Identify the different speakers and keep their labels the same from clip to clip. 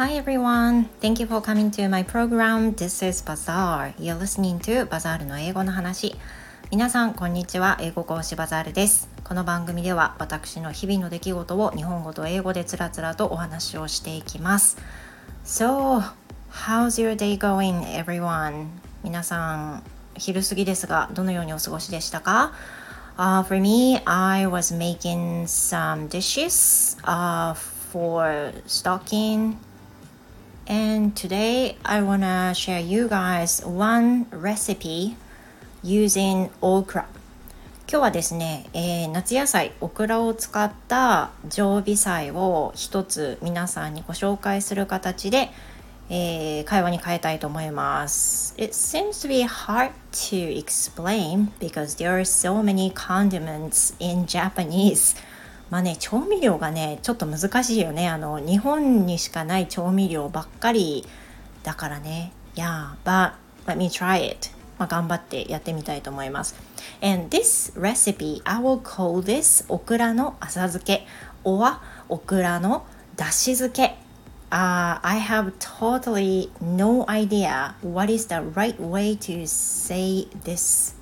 Speaker 1: Hi everyone, thank you for coming to my program. This is Bazaar. You're listening to Bazaar の英語の話。皆さんこんにちは、英語講師バザールです。この番組では私の日々の出来事を日本語と英語でつらつらとお話をしていきます。So, how's your day going, everyone? 皆さん昼過ぎですがどのようにお過ごしでしたか？For me, I was making some dishes for stocking.And today I wanna share you guys one recipe using okra. 今日はですね、夏野菜オクラを使った常備菜を一つ皆さんにご紹介する形で、会話に変えたいと思います。It seems to be hard to explain because there are so many condiments in Japanese.まあね、調味料がねちょっと難しいよね。日本にしかない調味料ばっかりだからね。Yeah, but let me try it. 頑張ってやってみたいと思います。And this recipe, I will call this オクラの浅漬け or オクラのだし漬け。I have totally no idea what is the right way to say this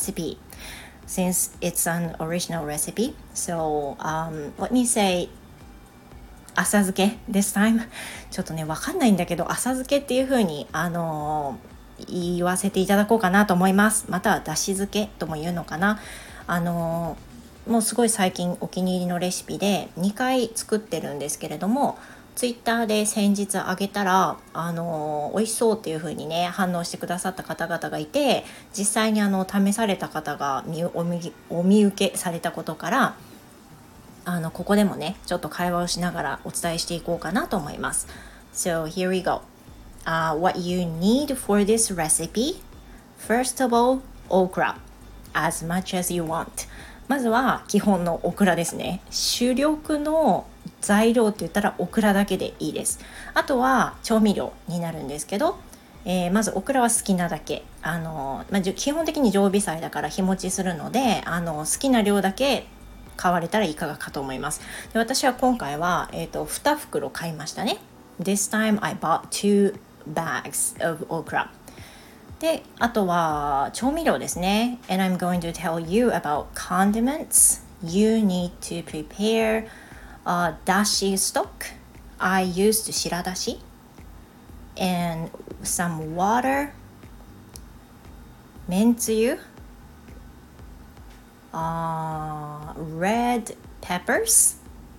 Speaker 1: recipe.Since it's an original recipe, so let me say 浅漬け this time ちょっとねわかんないんだけど浅漬けっていう風に言わせていただこうかなと思います。またはだし漬けとも言うのかな。もうすごい最近お気に入りのレシピで2回作ってるんですけれども、ツイッターで先日あげたら美味しそうっていう風にね反応してくださった方々がいて、実際に試された方がお見受けされたことからここでもねちょっと会話をしながらお伝えしていこうかなと思います。So here we go.What you need for this recipe? First of all, okra, as much as you want. まずは基本のオクラですね。主力の材料って言ったらオクラだけでいいです。あとは調味料になるんですけど、まずオクラは好きなだけ基本的に常備菜だから日持ちするので好きな量だけ買われたらいかがかと思います。で私は今回は、2袋買いましたね。This time I bought 2 bags of okra. であとは調味料ですね。 And I'm going to tell you about condiments. You need to prepare dashi stock. I used 白だし and some water, めんつゆ、red peppers.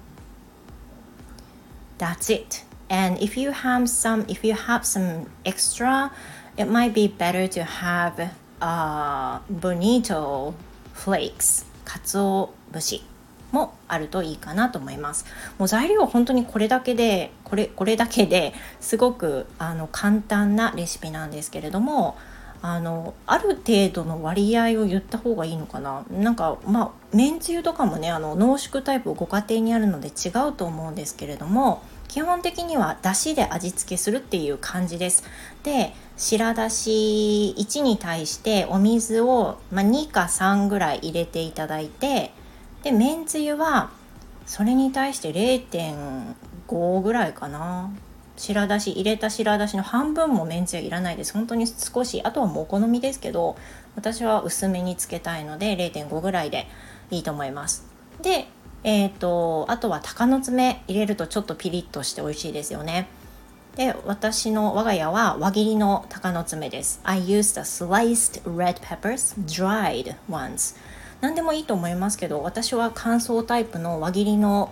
Speaker 1: That's it. And if you have some extra, it might be better to have bonito flakes. かつお節もあるといいかなと思います。もう材料は本当にこれだけですごく簡単なレシピなんですけれども、ある程度の割合を言った方がいいのかな。めんつゆとかもね濃縮タイプご家庭にあるので違うと思うんですけれども、基本的にはだしで味付けするっていう感じです。で白だし1に対してお水を、2か3ぐらい入れていただいて、でめんつゆはそれに対して 0.5 ぐらいかな。入れた白だしの半分もめんつゆいらないです。本当に少し、あとはもうお好みですけど、私は薄めにつけたいので 0.5 ぐらいでいいと思います。であとは鷹の爪入れるとちょっとピリッとして美味しいですよね。で我が家は輪切りの鷹の爪です。 I used the sliced red peppers, dried ones。 何でもいいと思いますけど、私は乾燥タイプの輪切りの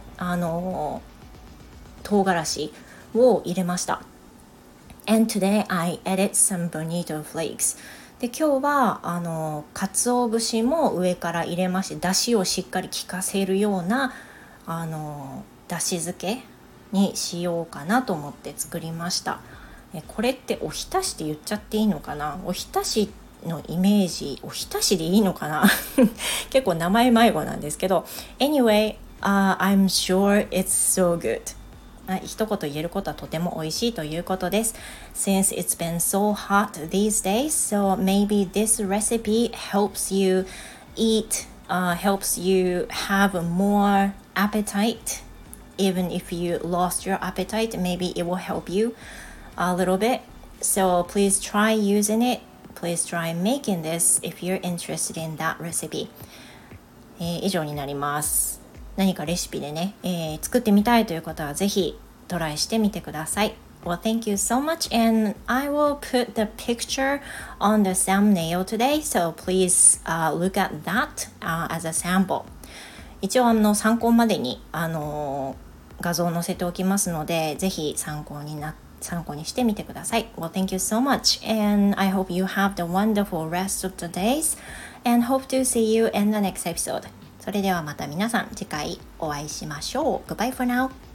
Speaker 1: 唐辛子を入れました。 And today I added some bonito flakes。で今日は鰹節も上から入れまして、だしをしっかり効かせるようなだし漬けにしようかなと思って作りました。これっておひたしって言っちゃっていいのかな。おひたしのイメージ、おひたしでいいのかな結構名前迷子なんですけど Anyway、I'm sure it's so good。一言言えることはとても美味しいということです。Since it's been so hot these days, so maybe this recipe helps you have more appetite even if you lost your appetite, maybe it will help you a little bit. So please try using it. Please try making this if you're interested in that recipe. 以上になります。何かレシピでね、作ってみたいという方はぜひトライしてみてください。Well, thank you so much, and I will put the picture on the thumbnail today, so please look at that as a sample. 一応参考までに画像を載せておきますので、ぜひ参考にしてみてください。Well, thank you so much, and I hope you have the wonderful rest of the days, and hope to see you in the next episode. それではまた皆さん次回お会いしましょう。Goodbye for now.